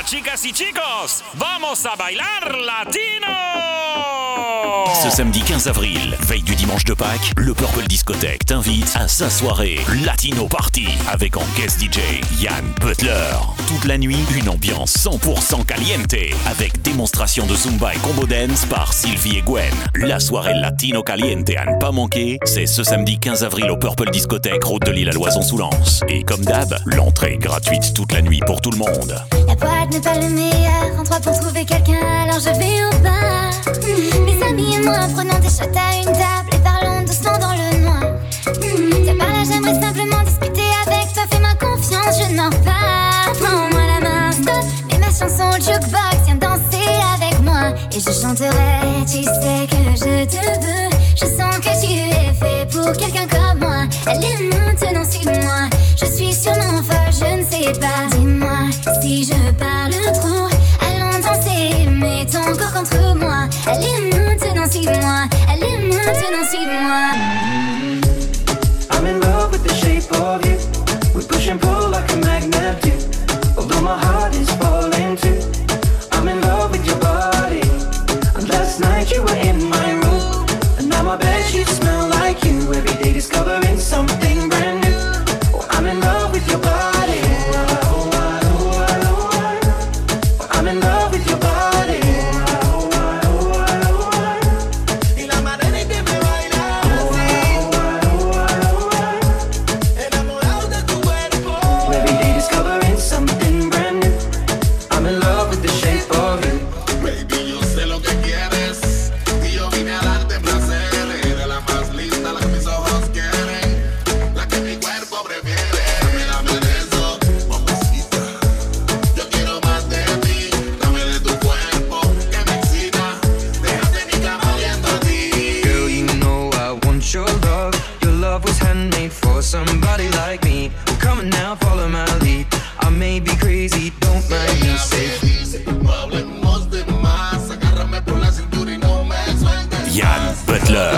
chicas y chicos, vamos a bailar latino! Ce samedi 15 avril, veille du dimanche de Pâques, le Purple Discothèque t'invite à sa soirée Latino Party avec en guest DJ Yann Butler. Toute la nuit, une ambiance 100% caliente avec démonstration de Zumba et combo dance par Sylvie et Gwen. La soirée Latino Caliente à ne pas manquer, c'est ce samedi 15 avril au Purple Discothèque, route de l'île à Loison-sous-Lens. Et comme d'hab, l'entrée est gratuite toute la nuit pour tout le monde. La boîte n'est pas le meilleur endroit pour trouver quelqu'un, alors je vais au bar. Mes amis et moi prenons des shots à une table et parlons doucement dans le noir. Tiens par là, j'aimerais simplement discuter avec toi, fais-moi confiance, je n'en pas. Prends-moi la main, stop, mets ma chanson au jukebox, viens danser avec moi. Et je chanterai, tu sais que je te veux. Je sens que tu es fait pour quelqu'un comme moi. Allez maintenant, suis-moi, je suis sûrement folle, je ne sais pas. Dis-moi si je parle trop, allons danser, mets ton corps contre moi. Allez maintenant, suis-moi, allez maintenant, suis-moi. I'm in love with the shape of you. We push and pull like a magnet do. Although my heart is falling too. I'm in love with your body. And last night you were in my room. And now my bedsheets smell like you. Every day discovering something brand new. Oh, I'm in love with your body. I'm in love with your body. Y la manera en que me bailas enamorado de tu cuerpo. Every day discovering something brand new. I'm in love with the shape of you. Baby, yo sé lo que quieres y yo vine a darte placer. Eres la más linda, la que mis ojos quieren, la que mi cuerpo prefiere. Dame de eso, mamacita. Yo quiero más de ti. Dame de tu cuerpo que me excita. Déjate mi cama viendo a ti. Girl, you know I want your love. Your love was handmade for somebody like me. Well, come on now, follow my lead. I may be crazy, don't mind me. Say, No hablemos de más. Agárrame por la cintura y no me sueltes. Yann Butler.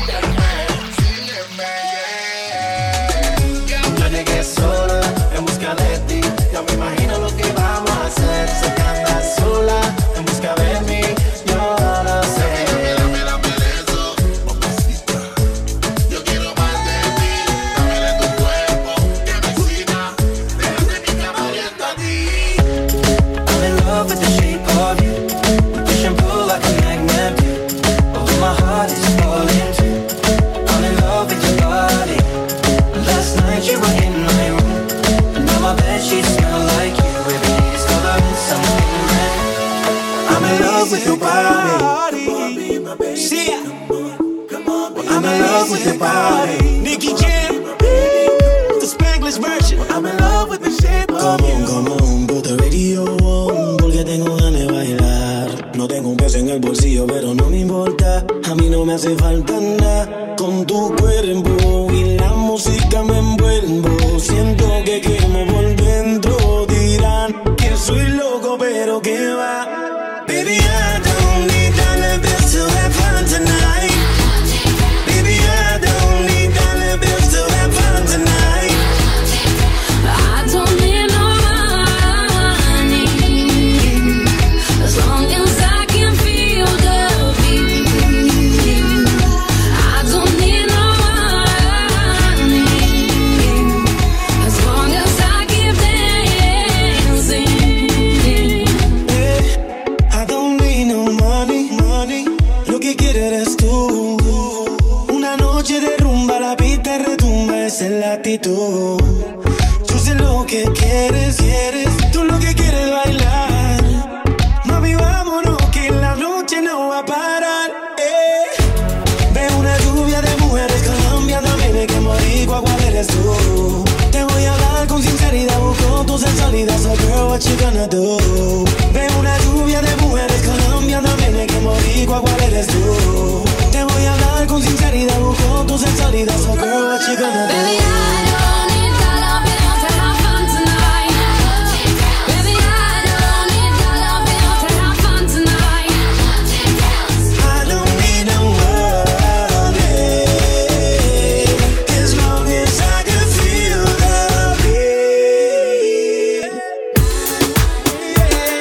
Yo llegué sola en busca de ti. Ya me imagino lo que vamos a hacer. Sé que andas sola en busca de mí. Yo lo sé. Dame de eso, mamacita. Yo quiero más de ti. Dame de tu cuerpo que me excita. Déjate mi cama viendo a ti. I'm in love with the shape of you. We push and pull like a magnet do. Although my heart is falling too. I'm in love with your body. Last night you were in my room. And now my bedsheets smell like you. Every day discovering something brand new. I'm in love with your body. Sí, I'm in love with your body. Nicky Jam, the Spanglish version. I'm in love with the shape of you. Come on, put the radio on, porque tengo ganas de bailar. No tengo un peso en el bolsillo, pero no me importa. A mí no me hace falta nada. Con tu cuerpo y la música me envuelvo. Siento que quemo por dentro. Dirán que soy loco, pero que va. Baby, I don't need dollar bills to have fun tonight. Baby, I don't need dollar bills to have fun tonight. I don't need no money, as long as I can feel the beat. I don't need no money, as long as I keep dancing. I don't need no money. Lo que quieres eres tú. Una noche de rumba, la pista retumba, esa es la actitud. Yo sé lo que quieres. Tú lo que quieres es bailar. Mami, vámonos que la noche no va a parar. Veo una lluvia de mujeres colombianas, dame que boricua, ¿cuál eres tú? Te voy a hablar con sinceridad, busco tu sensualidad, so girl, what you gonna do? Veo una lluvia de mujeres colombianas, dame que boricua, ¿cuál eres tú? Te voy a hablar con sinceridad, busco tu sensualidad, so girl, what you gonna do? Baby, I don't need dollar bills to have fun tonight. Baby, I don't need dollar bills to have fun tonight. I don't need no money, as long as I can feel the beat.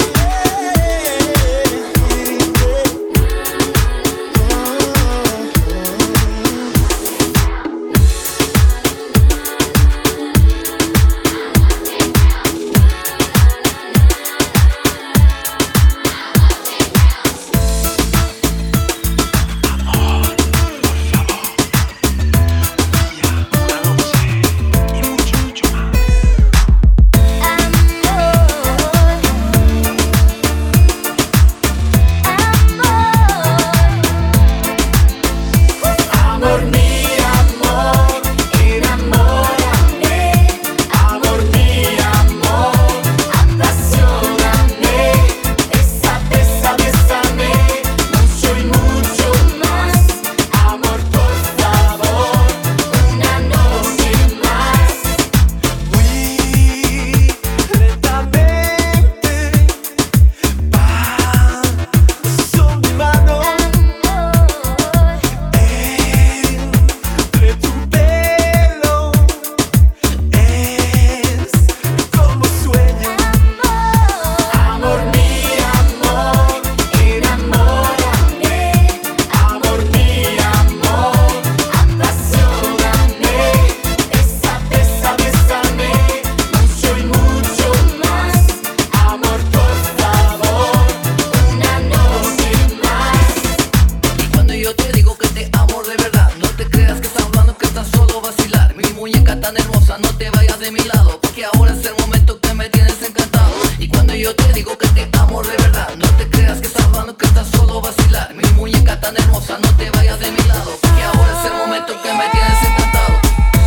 que tan solo vacilar. Mi muñeca tan hermosa, no te vayas de mi lado, que ahora es el momento que me tienes encantado.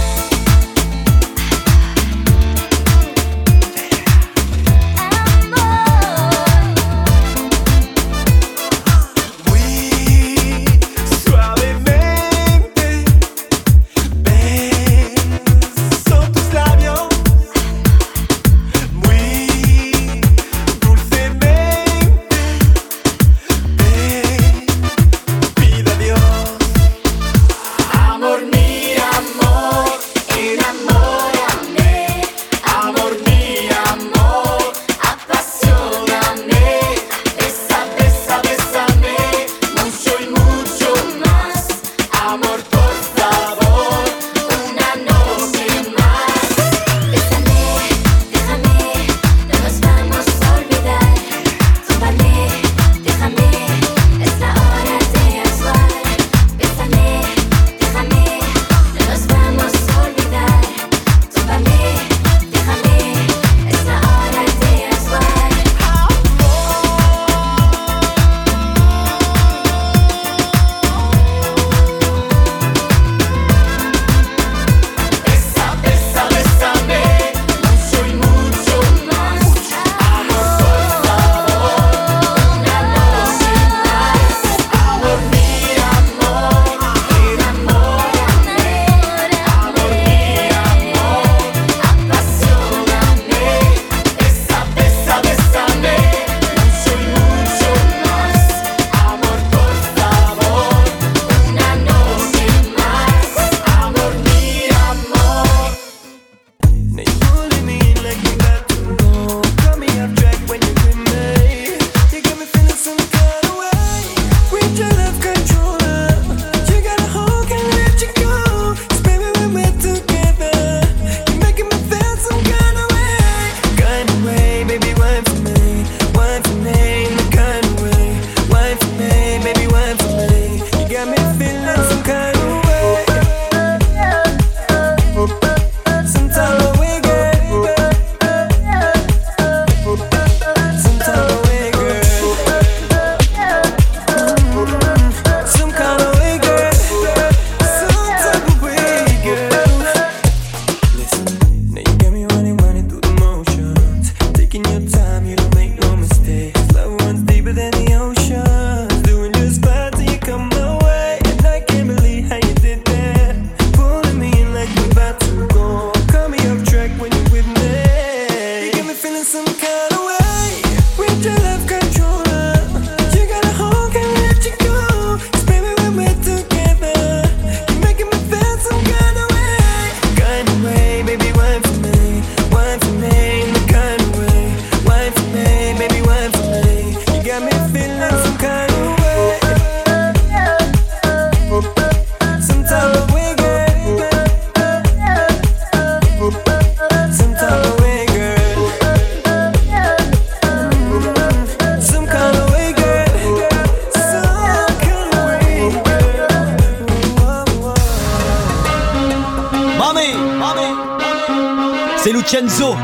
C'est Lucenzo,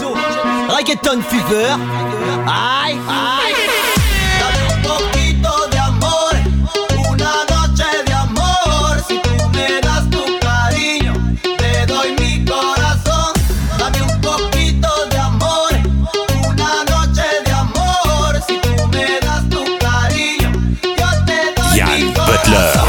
Reggaeton Fever. Ay, ay. Dame un poquito de amor, una noche de amor. Si tú me das tu cariño, te doy mi corazón. Dame un poquito de amor, una noche de amor. Si tú me das tu cariño, yo te doy Yann mi corazón. Butler.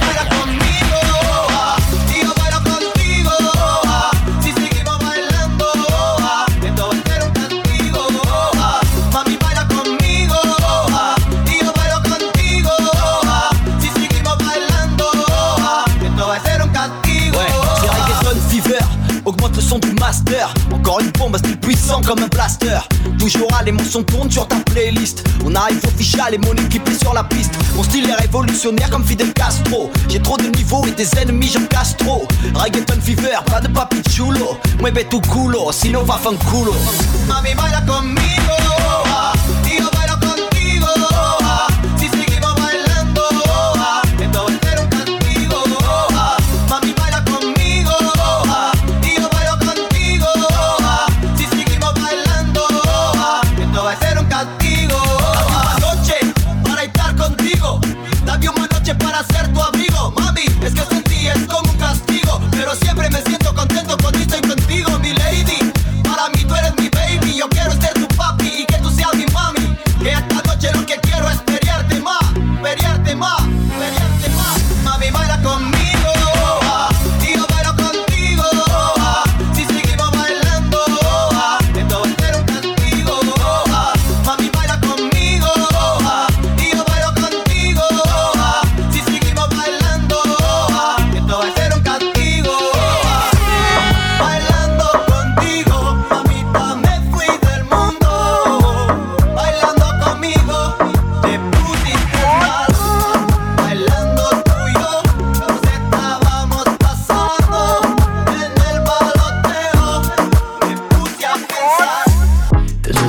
Augmente le son du master. Encore une bombe, style puissant comme un blaster. Toujours à l'émotion tourne sur ta playlist. On arrive official et mon équipe est sur la piste. Mon style est révolutionnaire comme Fidel Castro. J'ai trop de niveaux et des ennemis, j'en casse trop. Reggaeton Fever, pas de papi chulo. Mueve tu culo, sinon va fanculo. Mami baila conmigo, y yo bailo contigo. Si seguimos bailando, esto va a ser un castigo. Mami baila conmigo. Va a ser un castigo. La noche para estar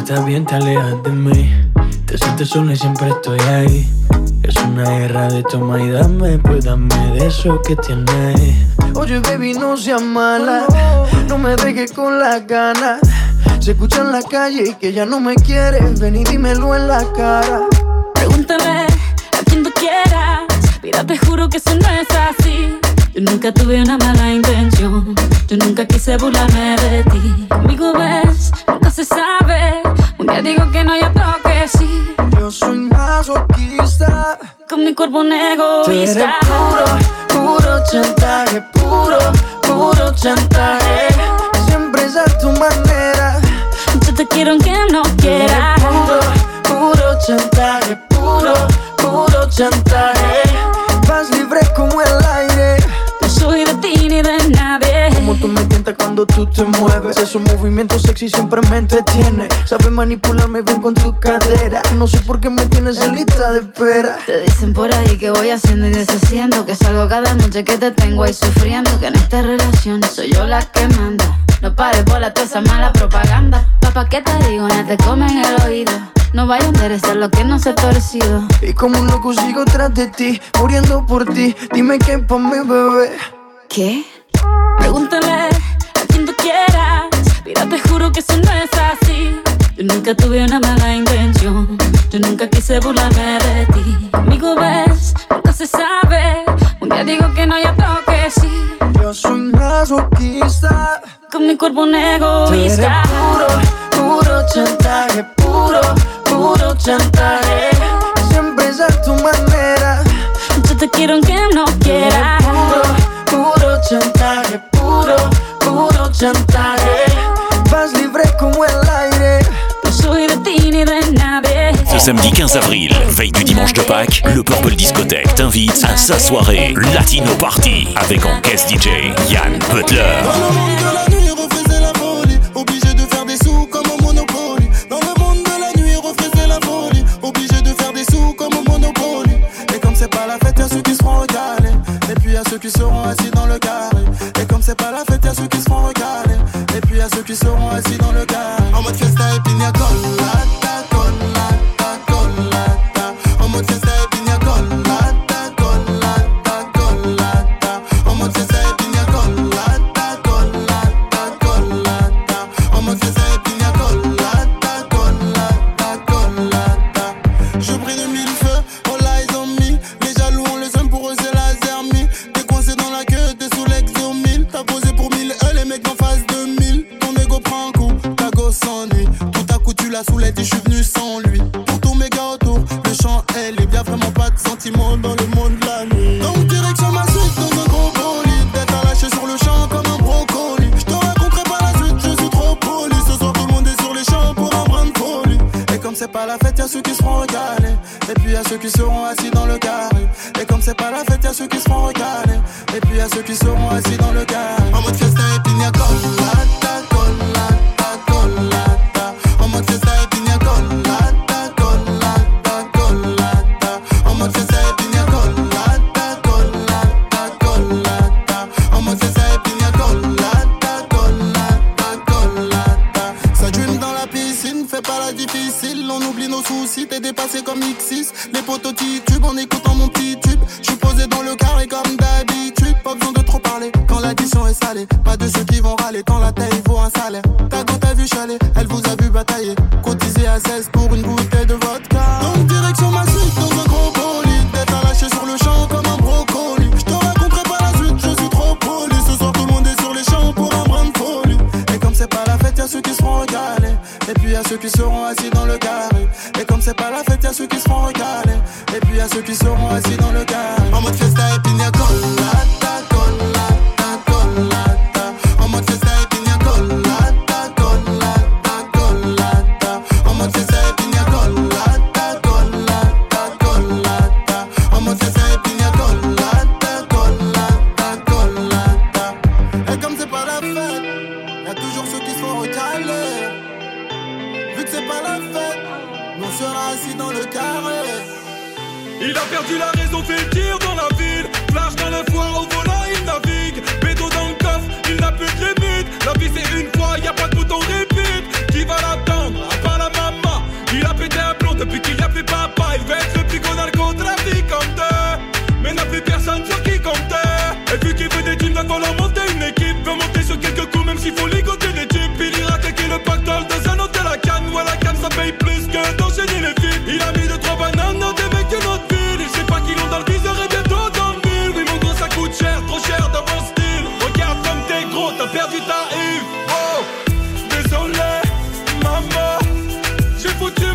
estás bien te alejas de mí. Te sientes sola y siempre estoy ahí. Es una guerra de toma y dame, pues dame de eso que tienes. Oye baby, no seas mala, no me dejes con las ganas. Se escucha en la calle y que ya no me quieres, ven y dímelo en la cara. Pregúntale a quien tú quieras, mira te juro que eso no es así. Yo nunca tuve una mala intención, yo nunca quise burlarme de ti. Conmigo ves, nunca se sabe, un día digo que no y otro que sí. Yo soy masoquista, con mi cuerpo un egoísta. Tú eres puro chantaje, puro chantaje. Siempre es a tu manera. Yo te quiero aunque no quieras. Puro chantaje, puro chantaje. Vas libre como el aire. No soy de ti ni de nadie. Como tú me tientas cuando tú te mueves. Esos movimientos sexy siempre me entretiene. Sabes manipularme bien con tu cadera. No sé por qué me tienes en lista de espera. Te dicen por ahí que voy haciendo y deshaciendo, que salgo cada noche que te tengo ahí sufriendo, que en esta relación soy yo la que manda. No pares por toda esa mala propaganda. Papá, ¿qué te digo? No te comen el oído. No vaya a enderezar lo que no se ha torcido. Y como un loco sigo tras de ti, muriendo por ti. Dime qué pa' mi bebé. ¿Qué? Pregúntale a quien tú quieras. Mira, te juro que eso no es así. Yo nunca tuve una mala intención, yo nunca quise burlarme de ti. Conmigo ves, nunca se sabe, un día digo que no y otro que sí. Yo soy masoquista, con mi cuerpo un egoísta. Puro chantaje, puro chantaje. Siempre es a tu manera. Yo te quiero aunque no quieras. Puro chantaje, puro chantaje. Vas libre como el aire. No soy de ti ni de nadie. Ce samedi 15 avril, veille du dimanche de Pâques, le Purple Discothèque t'invite à sa soirée Latino Party avec en guest DJ Yann Butler. Dans le monde de la nuit, refaisait la folie, obligé de faire des sous comme au Monopoly. Dans le monde de la nuit, refaisait la folie, obligé de faire des sous comme au Monopoly. Et comme c'est pas la fête, y'a ceux qui seront recalés, et puis y'a ceux qui seront assis dans le carré. Et comme c'est pas la fête, y'a ceux qui seront recalés, et puis y'a ceux qui seront assis dans le carré. En mode fiesta et pina colada, colada, colada. En mode fiesta et pina colada, colada, colada. En mode fiesta et pina colada, colada, colada. En mode fiesta et pina colada, colada, colada. Je brille de mille feux, all eyes on me. Les jaloux on le sème, pour eux c'est la zermie. T'es coincé dans la queue, t'es sous l'exomile. T'as posé pour 1000 les mecs d'en face de 1000. Ton ego prend un coup, ta gosse s'ennuie. Tout à coup tu la soulèves et je suis venu sans lui. Pour tous mes gars autour, le chant est libre. Y'a vraiment pas de sentiments dans le monde de la nuit. Donc direction ma suite dans un gros bolide. D'être à lâcher sur le champ comme un brocoli. Je te raconterai pas la suite, je suis trop poli. Ce soir tout le monde est sur les champs pour un brin de folie. Et comme c'est pas la fête, y'a ceux qui seront recalés, et puis y'a ceux qui seront assis dans le carré. Et comme c'est pas la fête, y'a ceux qui seront recalés, et puis y'a ceux qui seront assis dans le carré. En mode fiesta et pina colada, colada, colada. En mode fiesta et pina colada, colada, colada. En mode fiesta et pina colada, colada, colada. En mode fiesta et pina colada, colada, colada. Ça dream dans la piscine, fais pas la difficile. On oublie nos soucis, t'es dépassé comme X6. Les potos titubent en écoutant mon petit tube. J'suis posé dans le carré comme d'habitude. Pas besoin de trop parler quand l'addition est salée. Pas de ceux qui vont râler quand la taille vaut un salaire. Ta go t'a vu chaler, elle vous a vu batailler. Cotisé à 16 pour une bouteille de vodka. Donc direction ma suite dans un gros bolide. D'être à lâcher sur le champ comme un brocoli. J'te raconterai pas la suite, je suis trop poli. Ce soir tout le monde est sur les champs pour un brin de folie. Et comme c'est pas la fête, y'a ceux qui seront recalés, et puis y'a ceux qui seront assis dans le carré. Et comme c'est pas la fête, y'a ceux qui seront recalés, et puis y'a ceux qui seront assis dans le carré. En mode fiesta et pina colada, colada, colada. En mode fiesta et pina colada, colada, colada. En mode fiesta et pina colada, colada, colada. En mode fiesta et pina colada, colada, colada. Et comme c'est pas la fête, y'a toujours ceux qui seront recalés. Vu que c'est pas la fête, on sera assis dans le carré. Il a perdu la raison, fait le tir dans la ville. Flash dans le foie, au volant il navigue. Bédo dans le coffre, il n'a plus de limite. La vie c'est une fois, y'a pas de bouton repeat. Qui va l'attendre, à part la main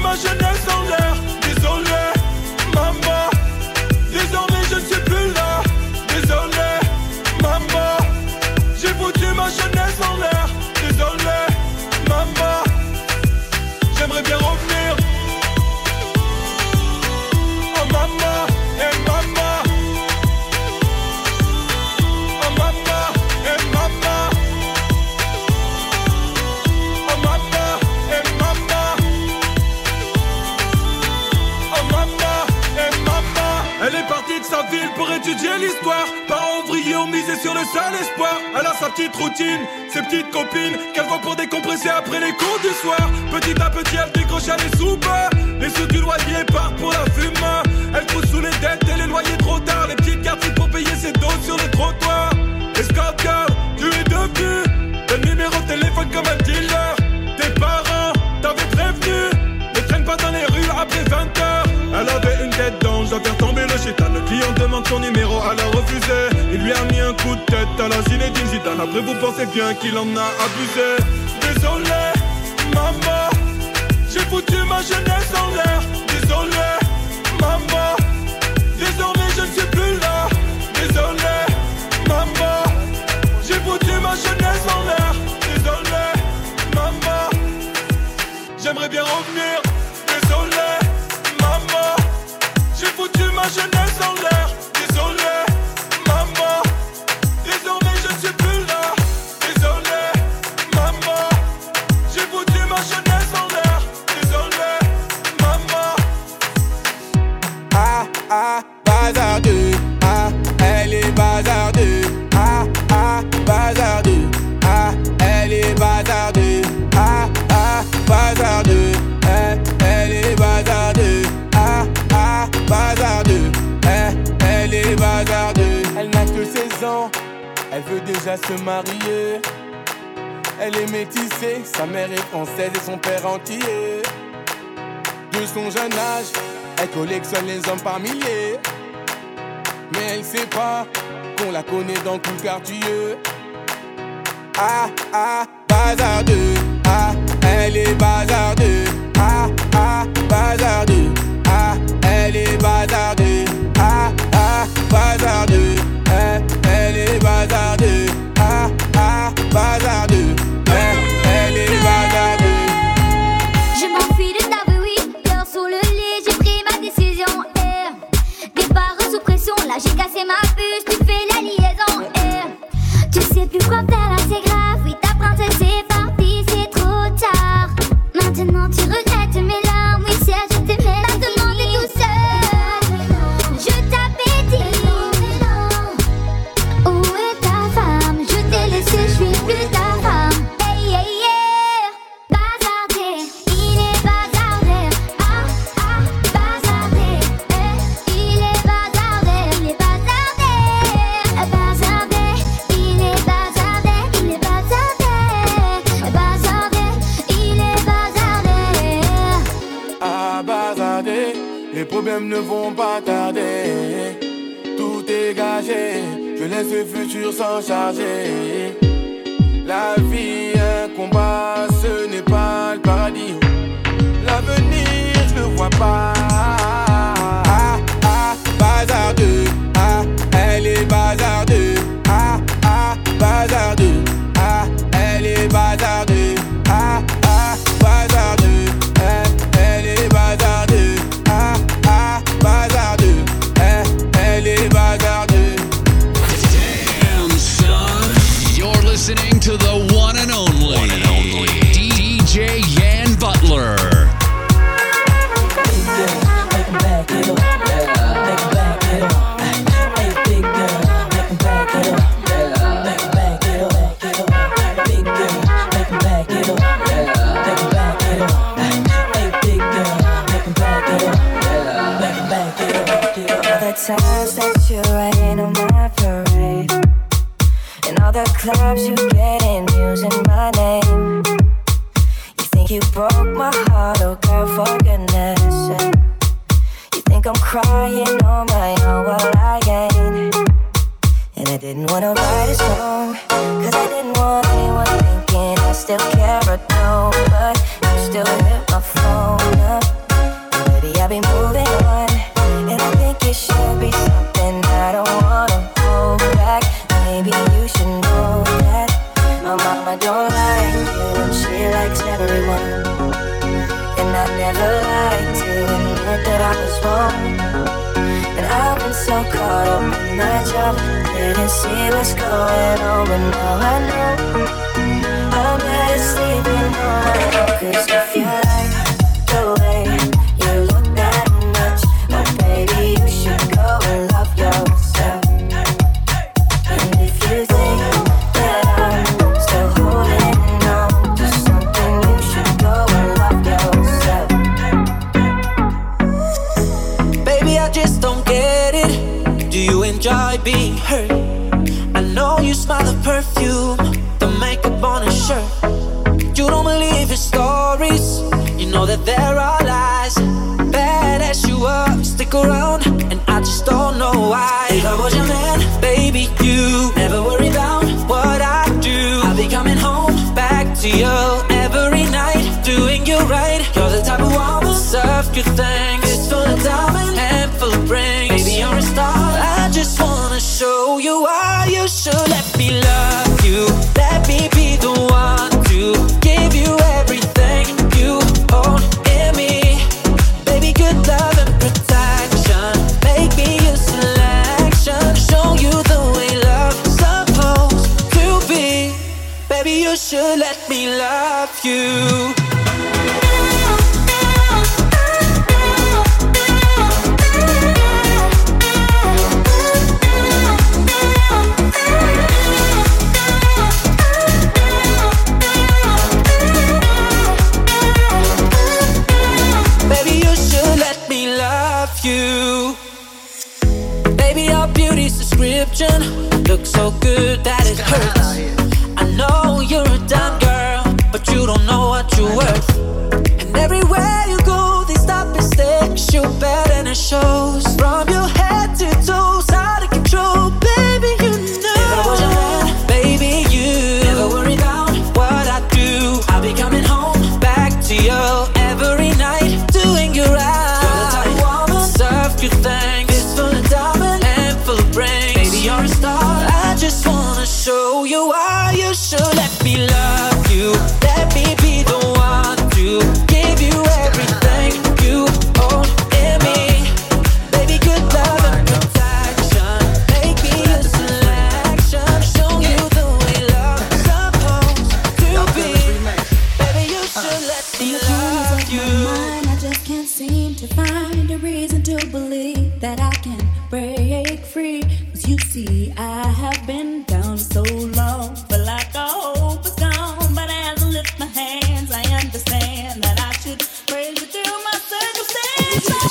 ma jeunesse en l'air. Désolé, maman. Désormais je ne suis plus là. Désolé, maman. J'ai foutu ma jeunesse en l'air. Désolé, maman. J'aimerais bien revenir. Oh maman, eh maman. Oh maman, eh maman. Oh maman, eh maman. Oh maman, eh maman. Elle est partie de sa ville pour étudier l'histoire. Parents ouvriers ont misé sur le seul espoir. Elle a sa petite routine, ses petites copines qu'elle voit pour décompresser après les cours du soir. Petit à petit elle décroche les sous bas. Les sous du loyer partent pour la fume. Elle trouve sous les dettes et les loyers trop tard. Les petites cartes pour payer ses doses sur le trottoir. Escort girl, tu es devenu le numéro de téléphone comme un dealer. Tes parents t'avaient prévenu, ne traîne pas dans les rues après 20h. Elle avait une tête d'ange, doit faire tomber le chétan. Le client demande son numéro, elle a refusé. Il lui a mis un coup de tête à la Zinedine Zidane. Après vous pensez bien qu'il en a abusé. Désolé, maman. J'ai foutu ma jeunesse en l'air. Désolé, maman. Désormais je ne suis plus là. Désolé, maman. J'ai foutu ma jeunesse en l'air. Désolé, maman. J'aimerais bien revenir. Désolé, maman. J'ai foutu ma jeunesse en l'air. Désolé, maman. Désormais je ne suis plus là. Désolé, maman. J'ai foutu ma jeunesse en l'air. Désolé, maman. Ah, ah, bazardeux. Ah, elle est bazardeux. Ah, ah, bazardeux. Ah, elle est bazardeux. Ah, ah, bazardeux. Elle est bazardeux. Ah, ah, bazardeux. Elle est bazardeux. Elle n'a que 16 ans. Elle veut déjà se marier. Elle est métissée. Sa mère est française et son père entier. De son jeune âge, elle collectionne les hommes par milliers. Mais elle sait pas qu'on la connaît dans tout le quartier. Ah, ah, bazardeux. Ah, elle est bazardeux. Ah, ah, bazardeux. Ah, elle est bazardeux. Ah, ah, bazardeux. Elle est bazardeux. Ah, ah, bazardeux. Elle est bazardeux. Je m'enfuis de ta vie, oui, pleure sur le lit, j'ai pris ma décision. Départ sous pression, là j'ai cassé ma puce, tu fais la liaison. Tu sais plus quoi faire, là c'est grave, oui ta princesse est partie, c'est trop tard. Maintenant tu regrettes mes larmes, oui certes je t'aimais, maintenant t'es tout seul. Je t'avais dit, où est ta femme? Je t'ai laissé, je suis plus ta femme. Hey, hey, yeah. Bazardé, il est bazardé. Ah, ah, bazardé. Il est bazardé, il est bazardé. Bazardé, il est bazardé, il est bazardé. Bazardé, il est bazardé. Ah, bazardé, les problèmes ne vont pas tarder. Tout est gagé, je laisse le futur s'en charger. La vie, un combat, ce n'est pas le paradis. L'avenir, je le vois pas. Ah, ah, bazardeux. Ah, elle est bazardeux. Ah, ah, bazardeux. Ah, elle est bazardeux. Ah, ah, bazardeux. Elle est bazardeux. Ah, ah, bazardeux. Elle est bazardeux. Damn, son. You're listening to the one and only, DJ Yan Butler. The times that you rain on my parade, and all the clubs you get in using my name. You think you broke my heart, oh girl, for goodness sake. You think I'm crying on my own, well I ain't. And I didn't wanna write a song, cause I didn't want anyone thinking I still care or no. But you still hit my phone up. never like to admit that I was wrong. And I've been so caught up in my job, didn't see what's going on, but now I know I'm better sleeping on my own. 'Cause if you like the way you look that much, oh baby, you should go and love yourself. And if you think that I'm still holding on to something, you should go and love yourself. Baby, I just don't get it. Do you enjoy being hurt? I know you smell the perfume, the makeup on his shirt. You don't believe his stories, you know that there are lies. Bad as you are, stick around, and I just don't know why. If I was your man, baby, you never worry about what I do. I'll be coming home back to you every night, doing you right. You're the type of woman, serve good things. It's full of diamond and full of rings. Baby, you're a star. I just wanna show you why you should let me love you. Let me be the one to give you everything you own in me. Baby, good love and protection. Make me your selection. Show you the way love's supposed to be. Baby, you should let me love you. You. Baby, your beauty's description looks so good that it hurts. I know you're a dumb girl, but you don't know what you're worth. And everywhere you go, they stop and stare, you better and it shows. From your head to toes, out of control, baby, you know. If I was your man, baby, you never worry about what I do. I'll be coming home back to you every night, doing you right. Good things. It's full of diamond and full of rings. Baby, you're a star. I just wanna show you why you should let me love you. Let me be the one to give you everything you own in me. Baby, good love and protection. Make me a selection. Show you the way love's supposed to be. Baby, you should let me love you. I just can't seem to find a reason to believe that I can break free. 'Cause you see, I have been down so long, feel like all hope is gone. But as I lift my hands, I understand that I should praise you through my circumstances.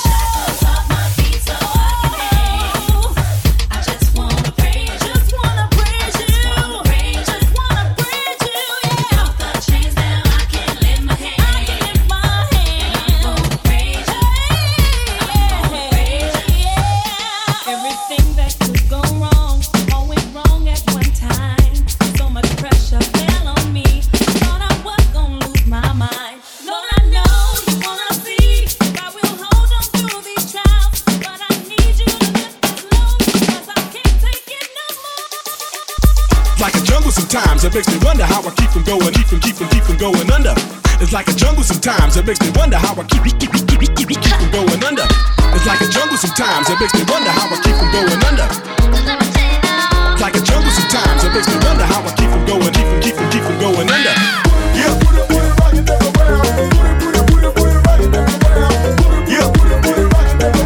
Sometimes it makes me wonder how I keep from going, keep from going under. It's like a jungle sometimes it makes me wonder how I keep from going under. It's like a jungle sometimes it makes me wonder how I keep from going under. It's like a jungle sometimes it makes me wonder how I keep from going, keep from going under. Yeah, put it right in the world. Put it right in the world. Yeah, put it right in the world.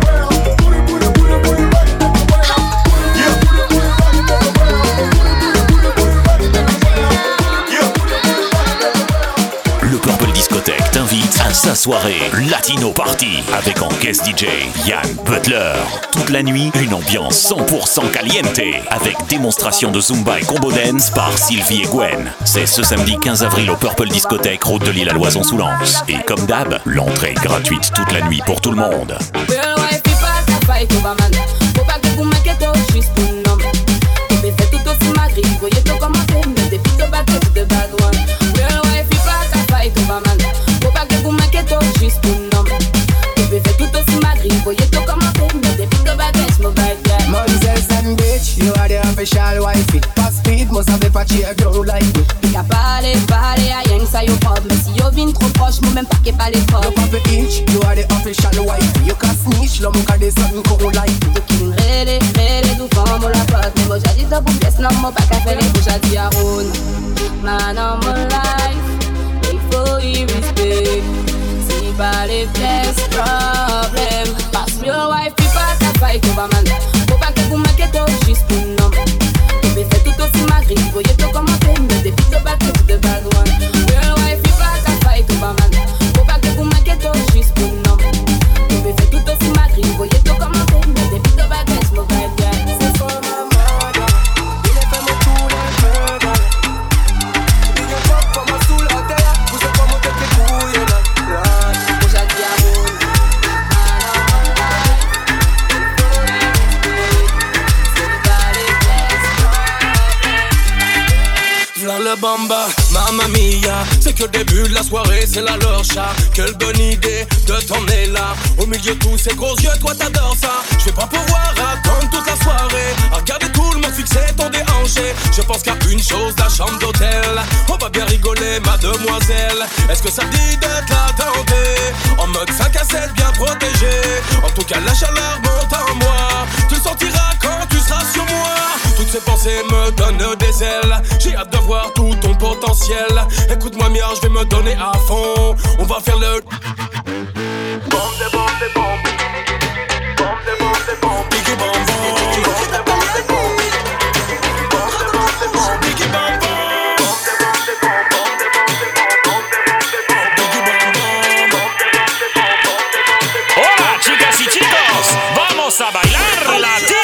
À sa soirée Latino Party avec en guest DJ Yann Butler. Toute la nuit, une ambiance 100% caliente avec démonstration de Zumba et combo dance par Sylvie et Gwen. C'est ce samedi 15 avril au Purple Discothèque, route de l'île à Loison-sous-Lens. Et comme d'hab, l'entrée est gratuite toute la nuit pour tout le monde. Official wifey, fast speed, must have a patchy, I don't like me. Fica pare, a yang sa yo pop, mais si yo vin copine trop proche, moi même pas qu'est pas les proches. You pop a inch, you are the official wife. You can snitch, l'homme au cas des sommes qu'on like. Tu qui m'rele, tout femme, on la pote. Mais moi j'ai dit ça pour pièce, non, moi pas qu'à faire les bouches à dire on. Man on my life, il faut y respect. Si pas les pièces, problème. Pass real wife, puis pas ta fight, on va man. Faut pas que vous marquez toi juste pour nom. Tu me fais tout aussi ma grille, voyez tout commenter. Mais des filles de bad, de bad one. Real wife, puis pas ta fight, on va man. Faut pas que vous marquez toi juste pour nom. Tu me fais tout aussi ma grille, voyez tout commenter. Mais des filles de bad, mon vibe, yeah. C'est for my mother. Il est fait mon tout les murder. Il est pas pour moi sous la terre. Vous êtes pas mon tête les couilles là. Moi j'ai dit à mon. V'là le bamba, mamma mia. C'est que le début de la soirée, c'est la lorcha. Quelle bonne idée de t'emmener là. Au milieu de tous ces gros yeux, toi t'adores ça. Je vais pas pouvoir attendre toute la soirée. À regarder tout le monde fixer ton déhanché. Je pense qu'à une chose, la chambre d'hôtel. On va bien rigoler, mademoiselle. Est-ce que ça te dit d'être là tentée? En mode 5 à 7, bien protégé. En tout cas, la chaleur monte en moi. Tu le sentiras quand tu seras sur moi. Toutes ces pensées me donnent des ailes. J'ai hâte de voir tout ton potentiel. Écoute-moi bien, je vais me donner à fond. On va faire le bombe de bombe de bombe. Bombe de bombe de bombe. Biggie bombe bombe. Bombe de bombe de bombe. Bombe de bombe de bombe. Biggie bombe bombe. Bombe de bombe de bombe. Bombe de bombe de bombe. Biggie bombe bombe. Bombe de bombe de bombe. Hola, chicas y chicos, vamos a bailar latino.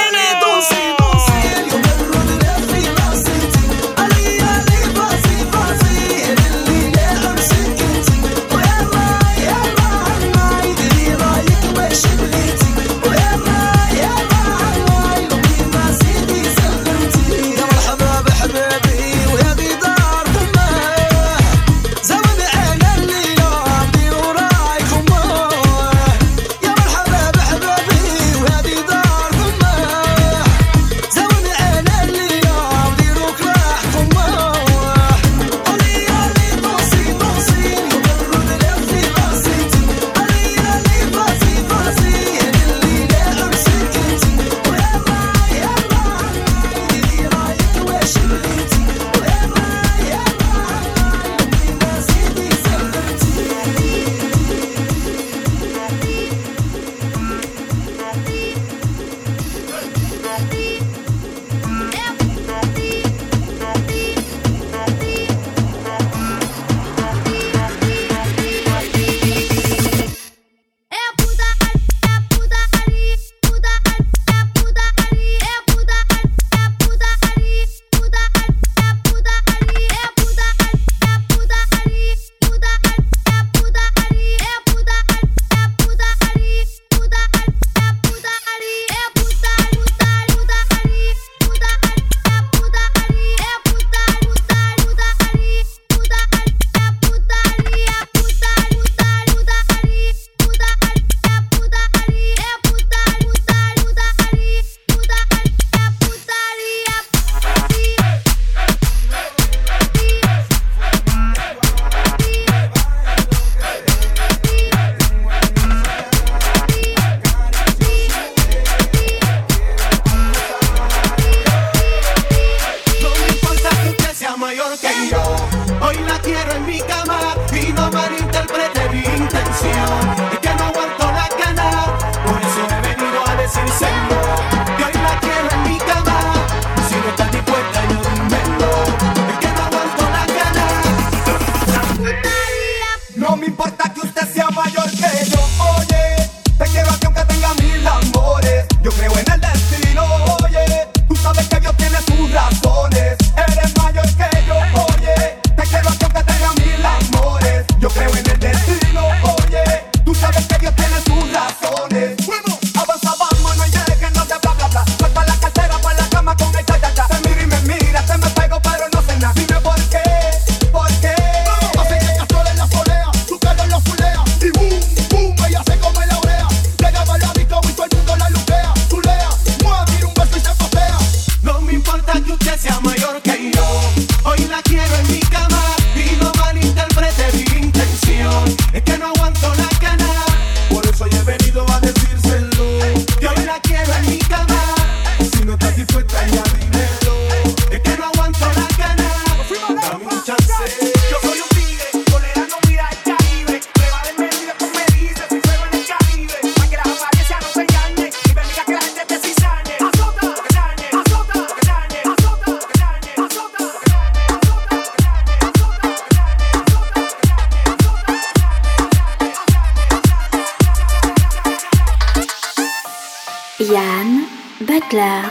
Yann Butler.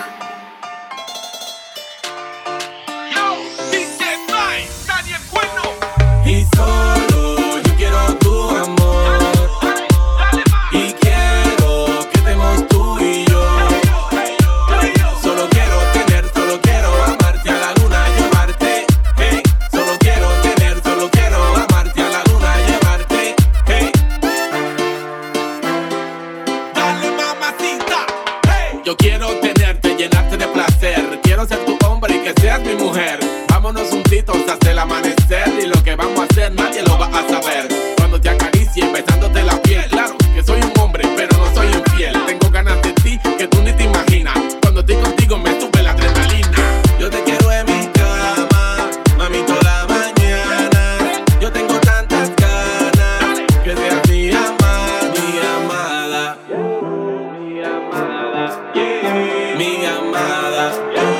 Y solo yo quiero tu amor. Y quiero que estemos tú y yo. Solo quiero tener, solo quiero amarte, a la luna llevarte. Hey, solo quiero tener, solo quiero amarte, a la luna llevarte. Hey, dale mamacita. Hey, yo quiero tenerte, llenarte de placer. Quiero ser tu hombre y que seas mi mujer. Vámonos juntitos hasta el amanecer. Y lo que vamos a hacer nadie lo va a saber. Cuando te acaricie besándote la piel. Claro que soy un hombre pero no soy infiel. Tengo ganas de ti que tú ni te imaginas. Cuando estoy contigo me sube la adrenalina. Yo te quiero en mi cama, mami, toda la mañana. Yo tengo tantas ganas que seas mi amada, mi amada, mi amada, yeah, mi amada.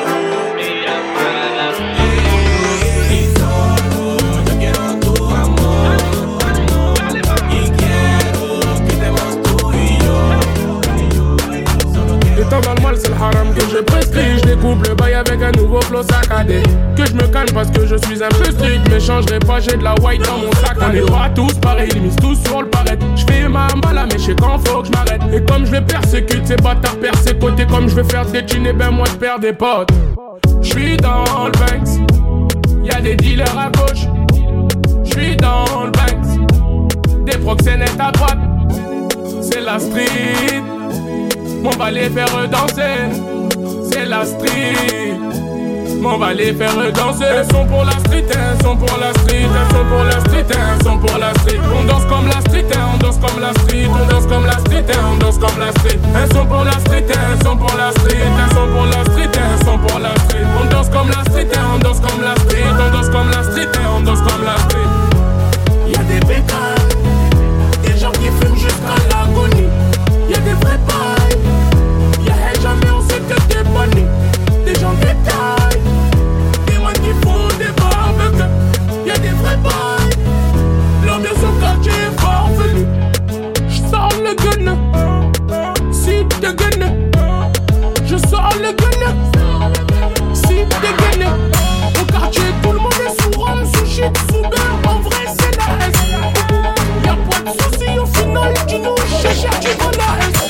Étant dans le mal, c'est le haram que je prescris. Je découpe le bail avec un nouveau flow saccadé. Que je me calme parce que je suis un peu strict. Mais changerai pas, j'ai de la white dans mon sac. On est pas tous pareils, ils misent tous sur le paraître. Je fais ma mbala, mais je sais quand faut que je m'arrête. Et comme je les persécute, ces bâtards persécutés. Comme je vais faire des thunes, et ben moi je perds des potes. Je suis dans le Banks, y'a des dealers à gauche. Je suis dans le Banks, des proxénètes à droite. C'est la street. On va les faire danser, c'est la street. On va les faire danser. Elles sont pour la street, elles sont pour la street, elles sont pour la street, elles sont pour la street. On danse comme la street, on danse comme la street, on danse comme la street, on danse comme la street. Elles sont pour la street, elles sont pour la street, elles sont pour la street, elles sont pour la street. On danse comme la street, on danse comme la street, on danse comme la street, on danse comme la street. Y'a des bécanes, des gens qui fument jusqu'à l'agonie. Y'a des vrais pailles, y'a jamais on sait que t'es bonné. Des gens qui taillent, des gens qui font des barbecues. Y'a des vrais pailles, l'ambiance au quartier est farfelue. J'sors le gun, si t'es gun. Je sors le gun, si t'es gun. Au quartier tout le monde est sous rhum, sous shit, sous beurre. En vrai c'est la S. Y'a pas de soucis au final, tu nous cherches, tu vois la S.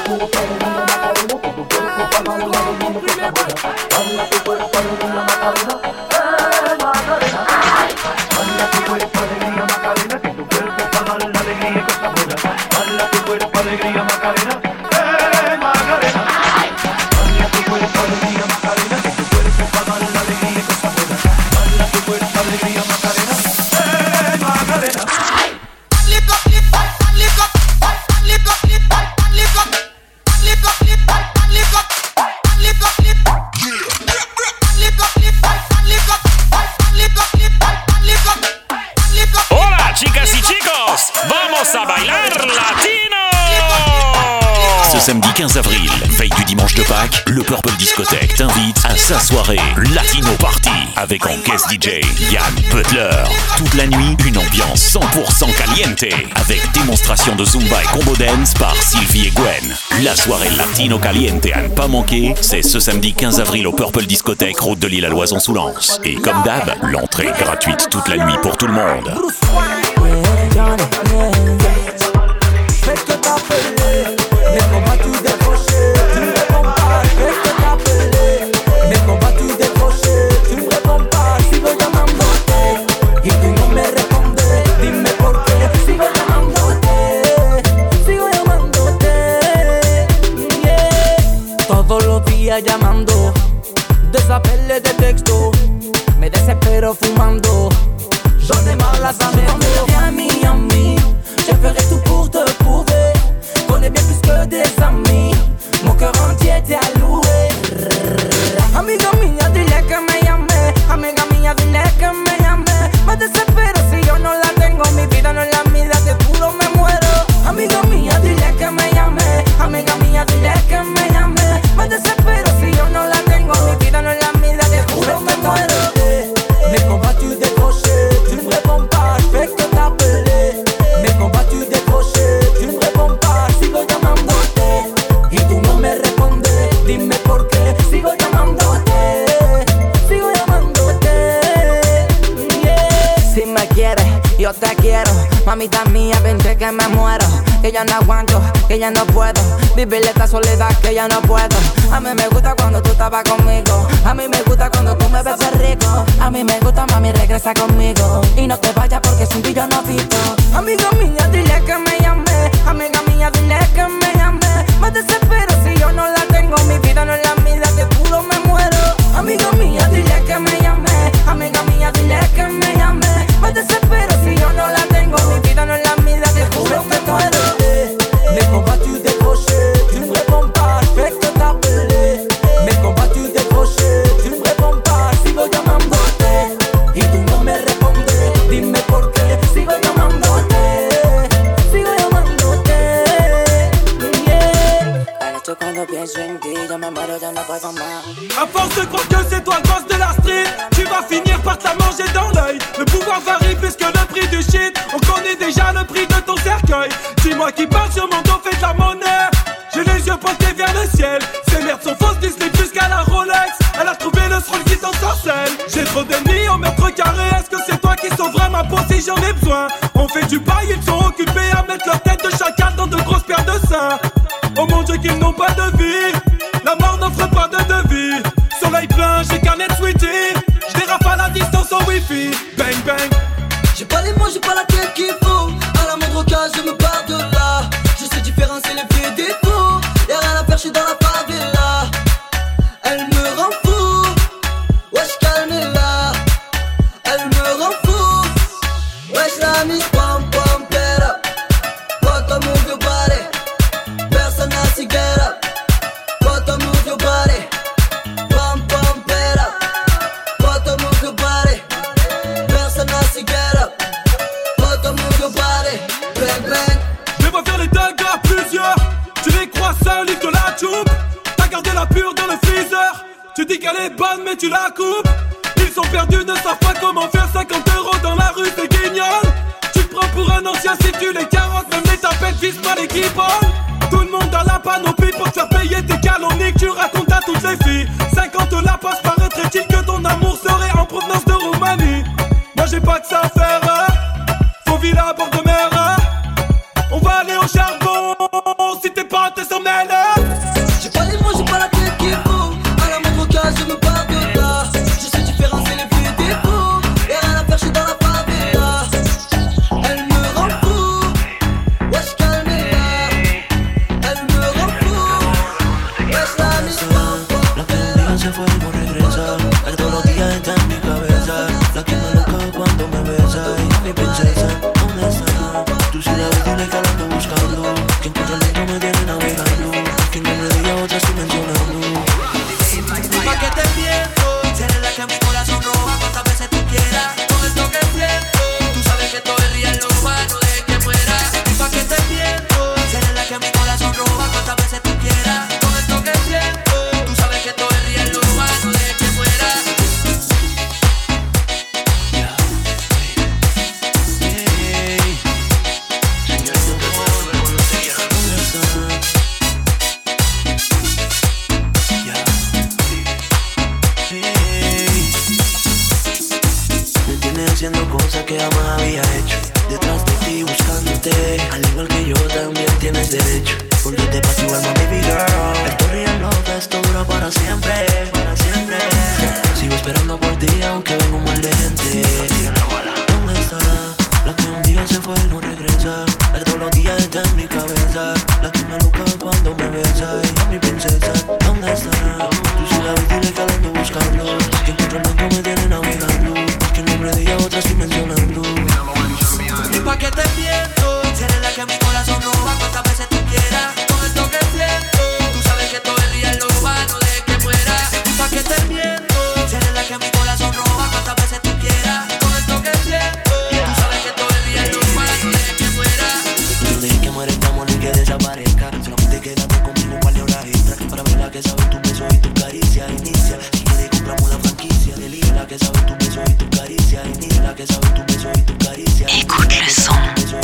Samedi 15 avril, veille du dimanche de Pâques, le Purple Discothèque t'invite à sa soirée Latino Party avec en guest DJ Yann Butler. Toute la nuit, une ambiance 100% caliente avec démonstration de Zumba et Combo Dance par Sylvie et Gwen. La soirée Latino Caliente à ne pas manquer, c'est ce samedi 15 avril au Purple Discothèque, route de l'île à Loison-sous-Lens. Et comme d'hab, l'entrée est gratuite toute la nuit pour tout le monde. Mais qu'on va tout décrocher, tu me réponds pas. Je vais t'appeler, mais qu'on va tout décrocher, tu me réponds pas. Sigo llamándote y tú no me respondes. Dime por qué. Sigo llamándote, yeah. Todos los días llamando, desapeles de texto, me desespero fumando. J'en ai marre la semaine. Viens Miami, je ferai tout pour te prouver. Connais bien plus que des amis. Mon cœur entier t'est alloué. Amiga mía, dile que me llame. Amiga mía, dile que me llame. Me desespero si yo no la tengo. Mi vida no es la mía, te juro me muero. Amiga mía, dile que me llame. Amiga mía, dile que me llame. Me desespero si yo no la tengo. Mi vida no es la mía, te juro me muero. muero, que ya no aguanto, que ya no puedo vivir esta soledad, que ya no puedo. A mí me gusta cuando tú estabas conmigo, a mí me gusta cuando tú me besas rico, a mí me gusta, mami, regresa conmigo y no te vayas porque sin ti yo no vivo. Amiga mía, dile que me llame, amiga mía, dile que me llame. Me desespero si yo no la tengo, mi vida no es la mía, te juro me muero. Amiga mía, dile que me llame, amiga mía, dile que me llame. Me desespero si yo no la tengo, mi vida no es la mía, te juro me muero. Mais qu'on va tu décrocher, tu me réponds pas, je fais que t'appeler. Mais qu'on va tu décrocher, tu me réponds pas, sigo llamándote y tú no me respondes, dime por qué, sigo llamándote, yeah. Anoche cuando pienso en ti, yo me muero, ya no puedo más. À force de croire que c'est toi le boss de la street, tu vas finir par te la manger dans l'œil. Le pouvoir varie plus que le prix du shit, on connaît déjà le prix de ton cercueil. Dis-moi qui parle sur mon dos fait de la monnaie. J'ai les yeux portés vers le ciel. Ces merdes sont fausses, Disney plus qu'à la Rolex. Elle a trouvé le sroll qui t'ensorcelle. J'ai trop d'ennemis au mètre carré. Est-ce que c'est toi qui sauverais ma peau si j'en ai besoin? On fait du bail, ils sont occupés à mettre leur tête de chacal dans de grosses paires de seins. Oh mon Dieu qu'ils n'ont pas de vie, la mort n'offre pas de devis. Soleil plein, j'ai carnet de sweetie. J'dérape à la distance au wifi. Bang bang. J'ai pas les mots, j'ai pas la tête qu'il faut. À la moindre occasion, je me barre de là. Je sais différencier les vrais défauts. Y'a rien à faire, j'suis dans la favela. Elle me rend fou. Wesh, calme-la. Elle me rend fou. Wesh, la mise, pam pam, get up. Bottom move your body. Personne n'a si get up. Bottom move your body. Pam pam, get up. Bottom move your body. Personne n'a si get up. Bottom move your body. Bang bang. Je vais faire les dingues à plusieurs. Tu les crois seuls, ils te la choupe. T'as gardé la pure dans le freezer. Tu dis qu'elle est bonne mais tu la coupes. Ils sont perdus, ne savent pas comment faire 50 € dans la rue, c'est guignol. Tu te prends pour un ancien si tu les carottes. Même les tapettes visent pas les guibolles. Tout le monde a la panoplie pour te faire payer tes calomnies que tu racontes à toutes les filles. 50 la passe, paraîtrait-il que ton amour serait en provenance de Roumanie. Moi j'ai pas que ça à faire, faut villa à bord de mer. On va aller au charbon, si t'es pas, t'es sans mêle. J'ai pas les mots, j'ai pas la tête qu'il faut. À la moindre occasion, je me barre de là. Je sais différencier les vrais défauts. Y'a rien à faire, j'suis dans la favela. Elle me rend fou. Wesh, calme-la. Elle me rend fou. Wesh, la mise, pam pam. La que un día se fue y no regresa. La que todos los días está en mi cabeza. La que me loca cuando me besa. Y mi princesa, ¿dónde está? Tú sí la ves, dile que la ando buscando. Que encuentra el dentro me tiene navegando. Que no me diga otra estoy mencionando. Pa' que te miento, seré la que mi corazón roba cuantas veces tú quieras. Con esto que siento, tú sabes que todo es real, lo humano de que muera. Pa' que te miento, seré la que mi corazón roba cuantas veces tú quieras. Con esto que siento, tú sabes que todo es real, lo humano de que muera. Haciendo cosas que jamás había hecho. Detrás de ti buscándote. Al igual que yo también tienes derecho. Porque te paso igual, baby girl. Esto real love, esto dura para siempre. Para siempre. Sigo esperando por ti aunque venga un mal de gente. ¿Dónde estará? La que un día se fue y no regresa. La que todos los días está en mi cabeza. La que me loca cuando me besa. Y mi princesa, ¿dónde estará? Tú sí la ves, dile que la ando buscando. Que encuentro el mundo me tiene navegando. Que no me diga otra estoy mencionando. Y pa' que te miento, seré la que mi corazón roba cuantas veces tú quieras. Con esto que siento, tú sabes que todo es real, lo humano de que muera. Y pa' que te miento, seré la que mi corazón roba cuantas veces tú quieras. Con esto que siento, tú sabes que todo es real, lo humano de que muera. No dejes que muera este amor ni que desaparezca. Solamente quédate conmigo un par de horas extra. Para ver la que sabe tu beso y tu caricia. Inicia, si quieres compramos la franquicia. Elige la que sabe tu beso y tu caricia. Inicia la que sabe tu beso y tu caricia. Écoute le son.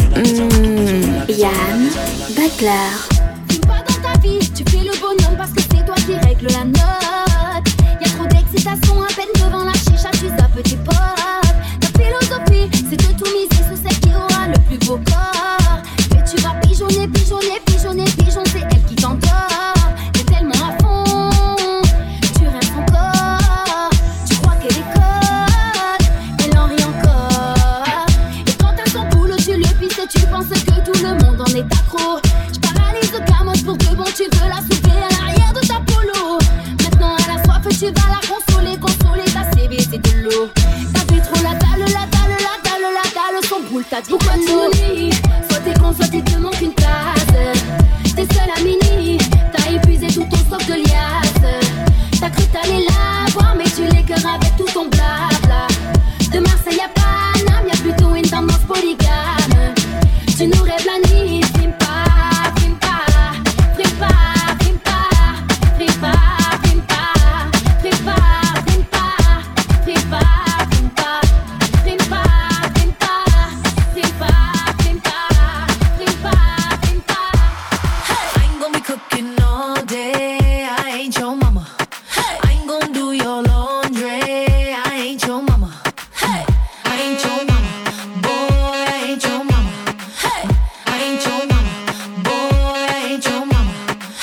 Yann Butler. Fume pas dans ta vie, tu fais le bonhomme parce que c'est toi qui règle la note. Y'a trop d'excitation à peine devant la chicha, tu sa petit pote. Ta philosophie, c'est de tout miser sur celle qui aura le plus beau corps. Que tu vas pigeonner, pigeonner, pigeonner, pigeonner. C'est elle qui t'endort, t'es tellement à fond, tu rêves son corps. Tu crois qu'elle est conne, elle en rit encore. Et quand t'as son boulot, tu le pisses et tu penses que tout le monde en est accro. J'paralyse le camote pour que bon tu veux la soulever à l'arrière de ta polo. Maintenant à la soif tu vas la consoler, consoler ta CV c'est de l'eau. T'as fait trop la dalle, la dalle, la dalle, la dalle, son boule t'as dit quoi de soit t'es con, soit il te manque une place. T'es seul à mini, t'as épuisé tout ton stock de liasses. T'as cru t'allais la voir mais tu l'écœures avec tout ton blabla. De Marseille à Paname, y'a plutôt une tendance polygame. Tu nous rêves la nuit, frime pas, frime pas, frime pas, frime pas, frime pas, frime pas, frime pas, frime pas, frime pas, frime pas, frime pas, frime pas, frime pas, frime pas, frime pas, frime pas. I ain't gonna be cooking all day. I ain't your mama. I ain't gonna do your laundry. I ain't your mama. I ain't your mama. Boy, I ain't your mama. I ain't your mama. Boy, I ain't your mama.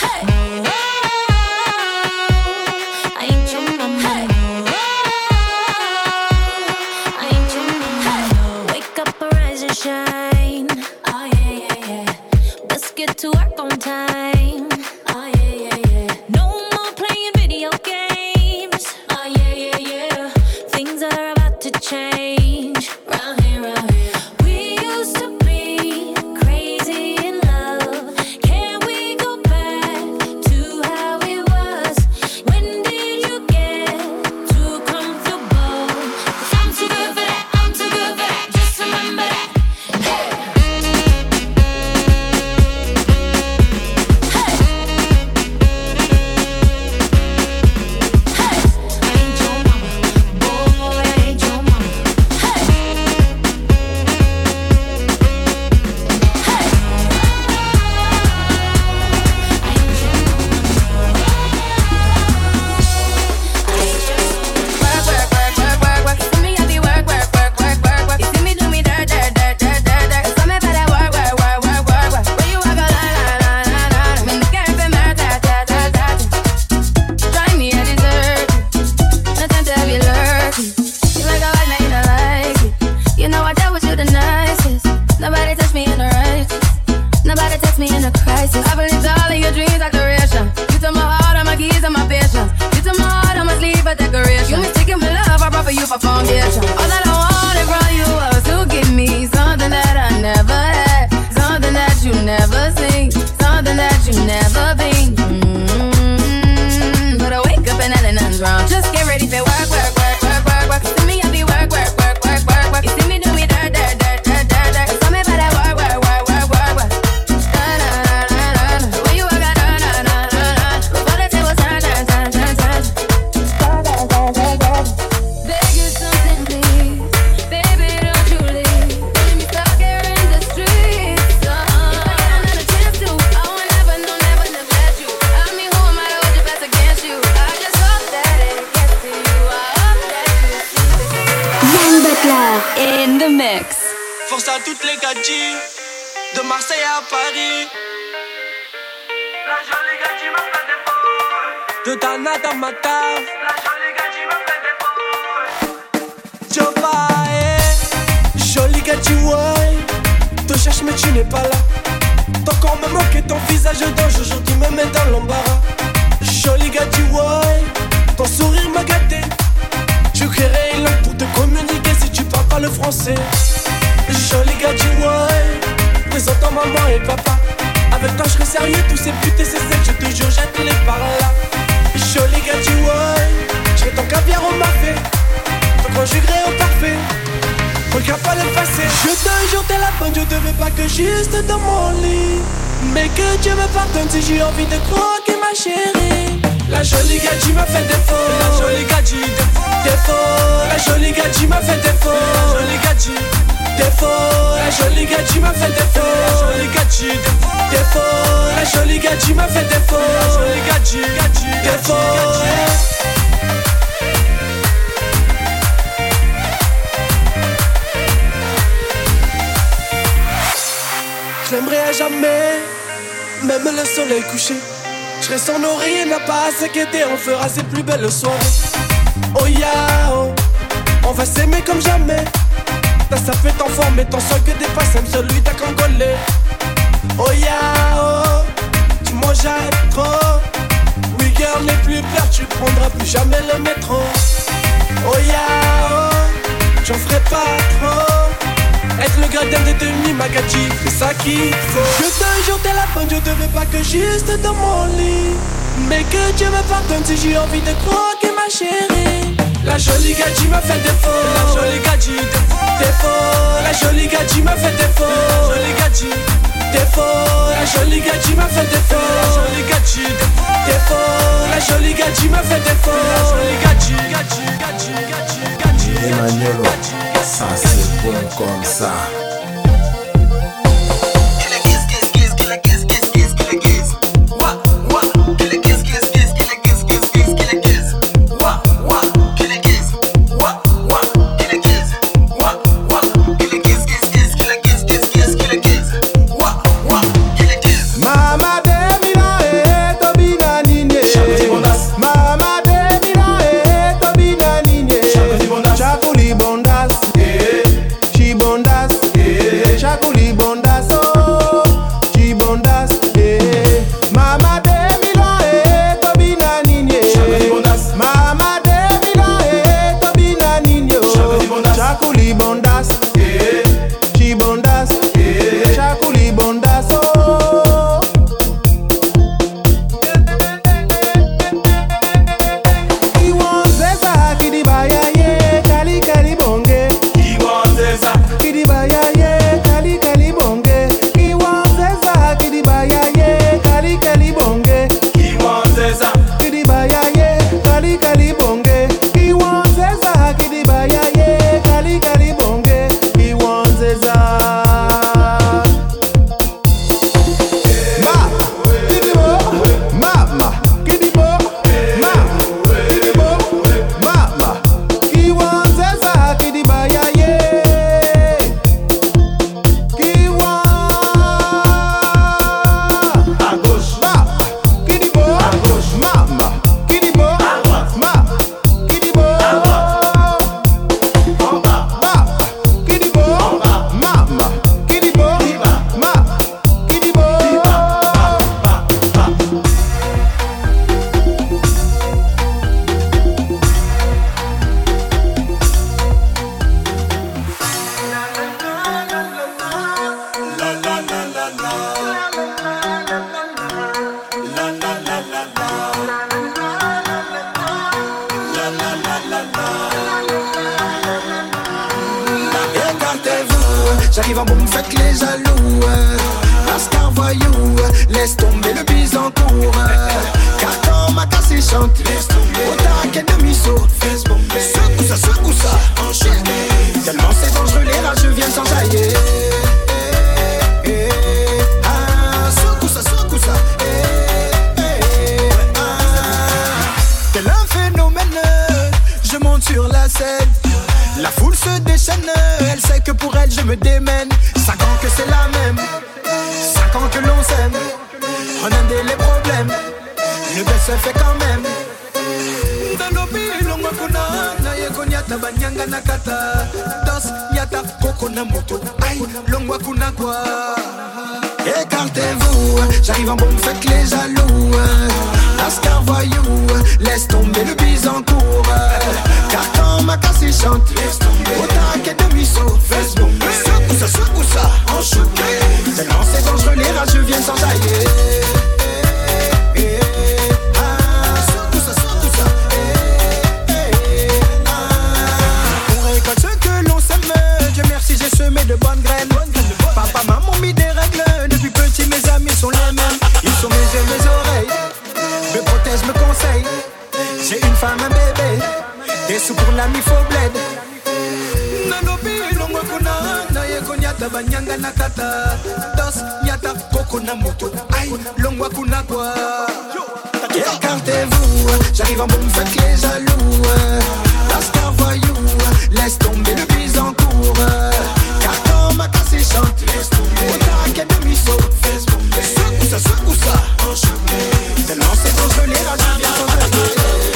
I ain't your mama. I ain't your mama. Wake up, arise and shine. Oh yeah, yeah, yeah. Let's get to work on time. Oh yeah, yeah, yeah. No more playing video games. Oh yeah, yeah, yeah. Things are about to change. Round here, round here. We used to be crazy in love. Can we go back to how it was? When did you get too comfortable? 'Cause I'm too good for that. I'm too good for that. Just remember that. Nobody touch me in a righteous. Nobody touch me in a crisis. I believed all of your dreams are duration. You took my heart, all my keys, and my patience. You took my heart, on my sleeve, a decoration. You mistaken my love, I brought for you for foundation. All that I wanted from you was to give me something that I never had, something that you never seen, something that you never been. But I wake up and nothing's wrong. Just get ready for work, work, work, work, work, work. See me, I be work, work, work, work, work, work. You see me do me dirt, dirt, dirt, dirt, dirt, dirt. Tell me about that work, work, work, work, work, work. Da da da da da. The way you work, da da da da da. Before the table turn, turn, turn, turn, turn. Da da da da da. Beg you something, please, baby, don't you leave. Leave me stuck here in the streets. If I get another chance to, I will never, no, never neglect you. I mean, who am I to hold your best against you? I just hope that it gets to you. I hope that you see this. Yann Butler in the mix. Force à toutes les gadgets, de Marseille à Paris. La jolie gadji m'a fait des fous. De Dana dans ma taf. La jolie gadji m'a fait des fous. Jobae, jolie gadji, ouais. Te cherche mais tu n'es pas là. Ton corps me manque et ton visage d'ange aujourd'hui me met dans l'embarras. Jolie gadji, ouais. Ton sourire m'a gâté. Je créerai une langue pour te communiquer si tu parles pas le français. Joli gadji, ouais. Présentant maman et papa. Avec toi je serai sérieux, tous ces putes et ces secs, je te jure jette-les par là. Joli gadji, ouais. Je serai ton caviar au mafé, ton conjugré au parfait. Regarde pas le passé. Je te jure t'es la bonne, je te veux pas que juste dans mon lit. Mais que Dieu me pardonne si j'ai envie de croquer ma chérie. La jolie gadji m'a fait défaut. La jolie gadji défaut. La jolie gadji m'a fait défaut. La jolie gadji défaut. La jolie gadji m'a fait défaut. La jolie gadji défaut. La jolie gadji m'a fait défaut. La jolie gadji défaut. J'aimerais jamais, même le soleil couché. Je serai son oreiller, n'a pas à s'inquiéter, on fera ses plus belles soirées. Oh yeah, oh, on va s'aimer comme jamais. Ça fait ton forme et ton sol que dépasse même celui d'un Congolais. Oh yeah, oh, dis-moi j'aime trop. Oui girl, n'aie plus peur, tu prendras plus jamais le métro. Oh yeah, oh, j'en ferai pas trop. Être le gradin des demi Magadji, c'est ça qu'il faut. Que d'un jour t'es la bonne, je te veux pas que juste dans mon lit. Mais que Dieu me pardonne si j'ai envie de croquer ma chérie. La jolie Gadji m'a fait défaut. La jolie Gadji défaut. La jolie Gadji m'a fait défaut. La jolie Gadji défaut. La jolie Gadji m'a fait défaut. La jolie Gadji défaut. La jolie Gadji m'a fait défaut. La jolie Gadji. Emmanuel, ça c'est bon comme ça. J'arrive en bon, me faites les jaloux. Lascar voyou, laisse tomber le bise en cours. Car quand ma casse chante, au taquet de miso, secoue ça, enchaîné. Tellement c'est dangereux, les rageux viennent s'enjailler. Secoue ça. Tel un phénomène, je monte sur la scène. La foule se déchaîne, elle sait que pour elle je me démène. 5 ans que c'est la même, 5 ans que l'on s'aime. On a les problèmes, le best se fait quand même. Nanobi longwa kuna, naye konyata banyanga nakata. Dos yata koko na moto, aïe longwa kuna quoi. Écartez-vous, j'arrive en bombe, faites les jaloux. Lascar voyou, laisse tomber le bise en cours. Car quand ma casse chante, au taquet de miso, secoue ça, enchouqué. Tellement c'est dangereux, les rageux viennent s'enjailler. Secoue ça. On récolte ce que l'on sème. Dieu merci, j'ai semé de bonnes graines. Papa, maman mis des règles. Depuis petit, mes amis sont les mêmes. Ils sont mes yeux, mes oreilles. Me protègent, me conseillent. J'ai une femme, un bébé. Des sous pour l'ami, faut bled. Nanobi, longwa kuna, naye konyata banyanga nakata. Dos, nyata, koko na moto. Aïe, longwa kuna quoi. Écartez-vous, j'arrive en bombe, faites les jaloux. Lascar voyou, laisse tomber le bise en cours. Car quand ma casse chante. On t'a de miso. Secoue ça. Tellement c'est congelé, là je viens congeler.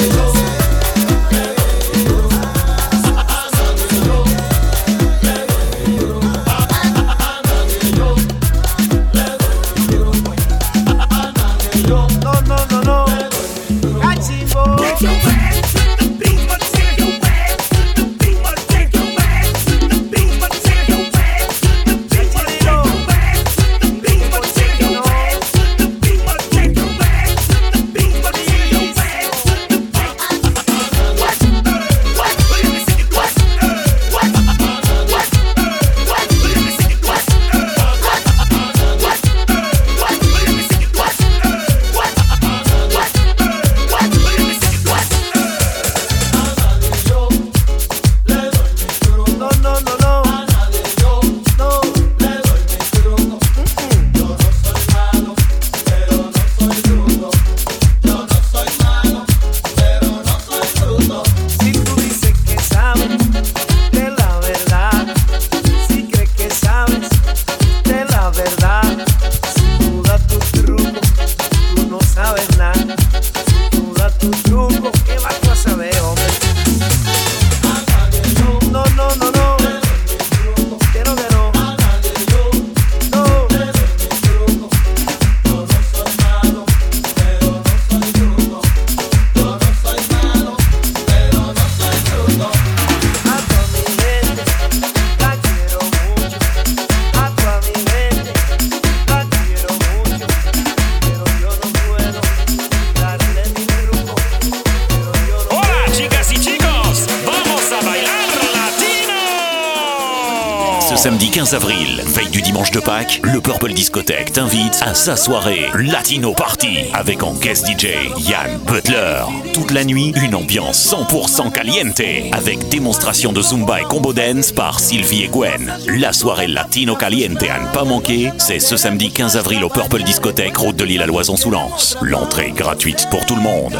Samedi 15 avril, veille du dimanche de Pâques, le Purple Discothèque t'invite à sa soirée Latino Party avec en guest DJ Yann Butler. Toute la nuit, une ambiance 100% caliente avec démonstration de Zumba et combo dance par Sylvie et Gwen. La soirée Latino Caliente à ne pas manquer, c'est ce samedi 15 avril au Purple Discothèque, route de l'île à Loison-sous-Lens. L'entrée est gratuite pour tout le monde.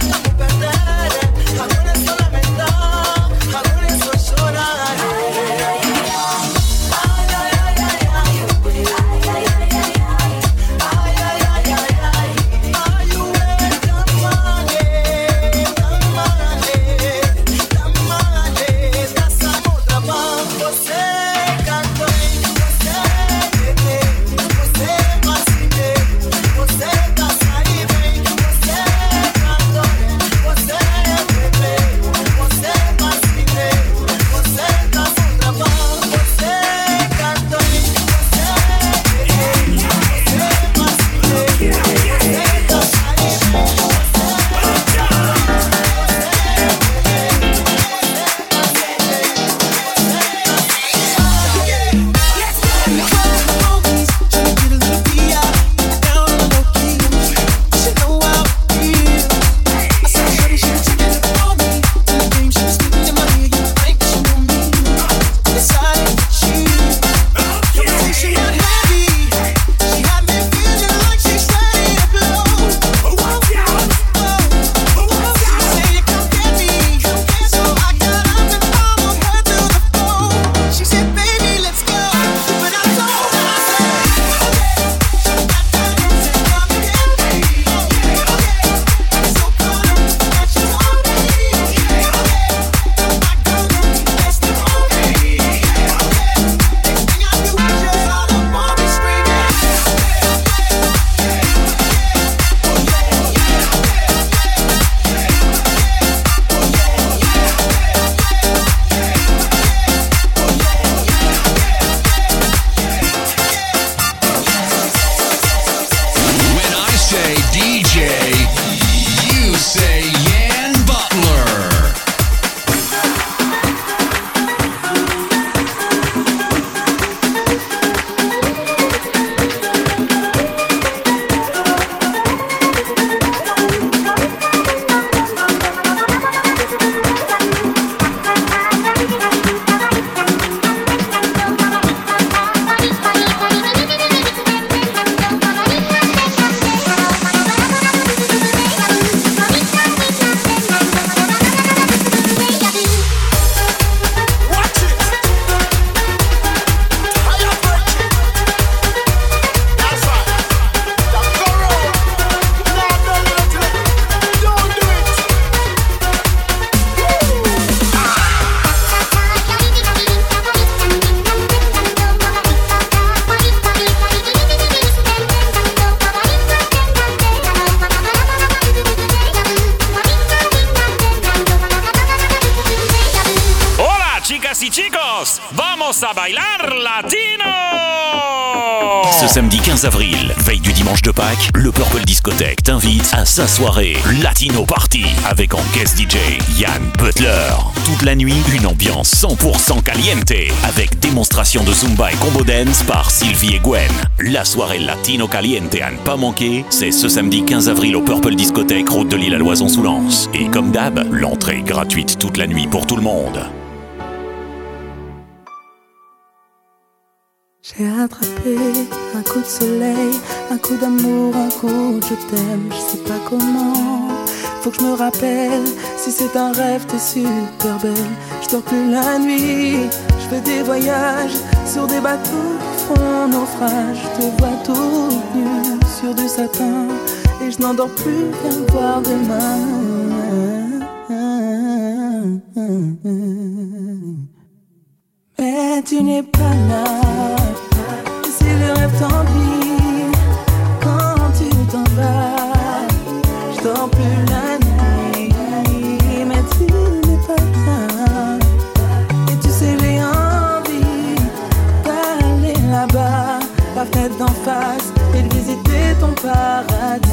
Chorar. sí chicos, vamos a bailar latino! Ce samedi 15 avril, veille du dimanche de Pâques, le Purple Discothèque t'invite à sa soirée Latino Party avec en guest DJ Yann Butler. Toute la nuit, une ambiance 100% caliente avec démonstration de Zumba et combo dance par Sylvie et Gwen. La soirée Latino Caliente à ne pas manquer, c'est ce samedi 15 avril au Purple Discothèque, route de l'Île à Loison-sous-Lens. Et comme d'hab, l'entrée est gratuite toute la nuit pour tout le monde. J'ai attrapé un coup de soleil, un coup d'amour, un coup de je t'aime, je sais pas comment. Faut que je me rappelle, si c'est un rêve t'es super belle. Je dors plus la nuit, je fais des voyages sur des bateaux qui font naufrage. Je te vois toute nue sur du satin et je n'endors plus, viens me voir demain. Mais tu n'es pas là. Si le rêve t'ennuie, quand tu t'en vas, je dors plus la nuit. Mais tu n'es pas là. Et tu sais j'ai envie d'aller là-bas, la fenêtre d'en face, et de visiter ton paradis.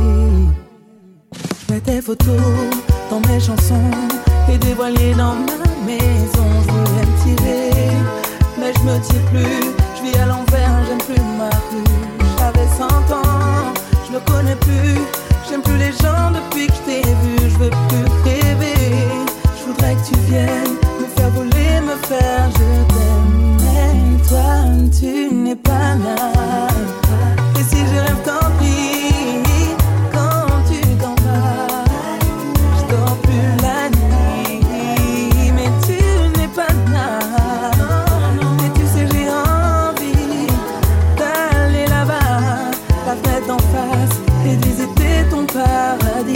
Je mets tes photos dans mes chansons et des voiliers dans ma maison. Je voulais me tirer, mais je me tire plus. Je vis à l'envers, j'aime plus ma rue. J'avais 100 ans, je ne connais plus. J'aime plus les gens depuis que je t'ai vu. Je veux plus rêver. Je voudrais que tu viennes me faire voler, me faire je t'aime. Mais toi, tu n'es pas là. Et si je rêve, tant pis. Quand tu t'en vas, je dors plus la nuit. Mais tu n'es pas là. Et tu sais, j'ai envie d'aller là-bas, la fenêtre d'en face, et de visiter ton paradis.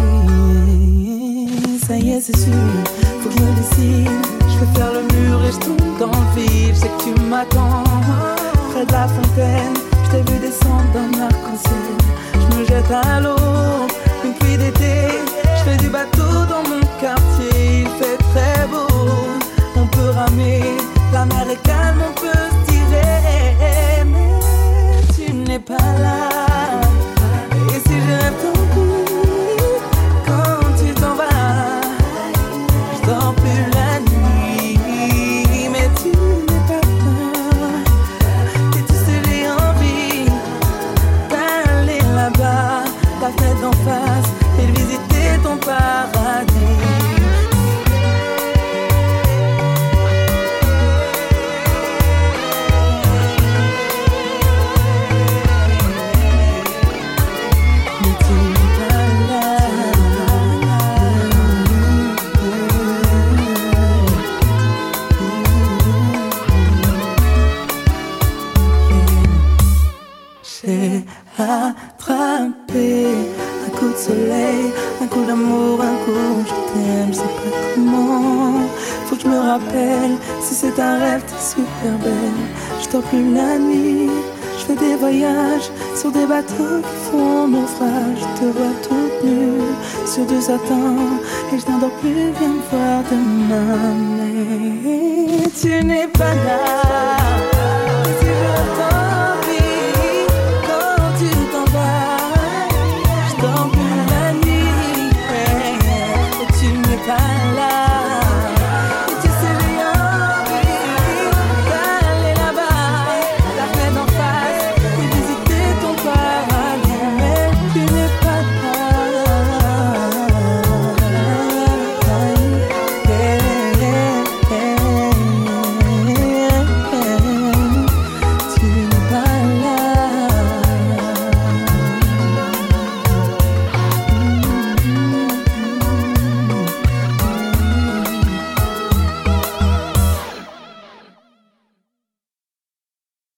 Ça y est, c'est sûr, faut que je me décide. Je veux faire le mur et je tombe dans le vide. Je sais que tu m'attends près de la fontaine. Je t'ai vu descendre d'un arc-en-ciel. Je me jette à l'eau, une pluie d'été. Je fais du bateau dans mon quartier. Il fait très beau, on peut ramer. La mer est calme, on peut se tirer. Mais tu n'es pas là. Et si je rêve tant pis, quand tu t'en vas, je dors plus la nuit. Mais tu n'es pas là. Et tu sais j'ai envie d'aller là-bas, la fenêtre d'en face, et de visiter ton paradis. J'ai attrapé un coup de soleil, un coup d'amour, un coup je t'aime, je sais pas comment. Faut que je me rappelle, si c'est un rêve t'es super belle. Je dors plus la nuit, je fais des voyages sur des bateaux qui font naufrage. Je te vois toute nue sur du satin et je n'endors plus, viens me voir demain. Mais tu n'es pas là.